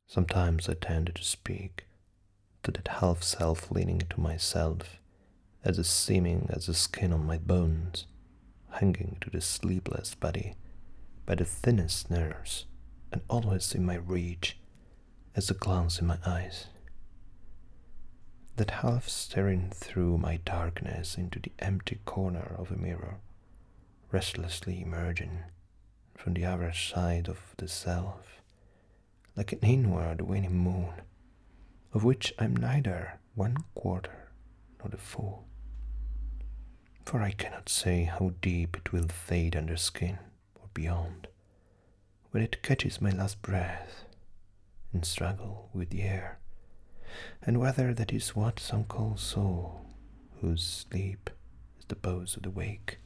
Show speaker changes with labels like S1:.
S1: Sometimes I tended to speak to that half-self leaning to myself, as seeming as the skin on my bones, hanging to the sleepless body by the thinnest nerves, and always in my reach as a glance in my eyes. That half staring through my darkness into the empty corner of a mirror, restlessly emerging from the other side of the self, like an inward waning moon, of which I'm neither one quarter nor the full. For I cannot say how deep it will fade under skin or beyond, when it catches my last breath and struggle with the air, and whether that is what some call soul, whose sleep is the pose of the wake,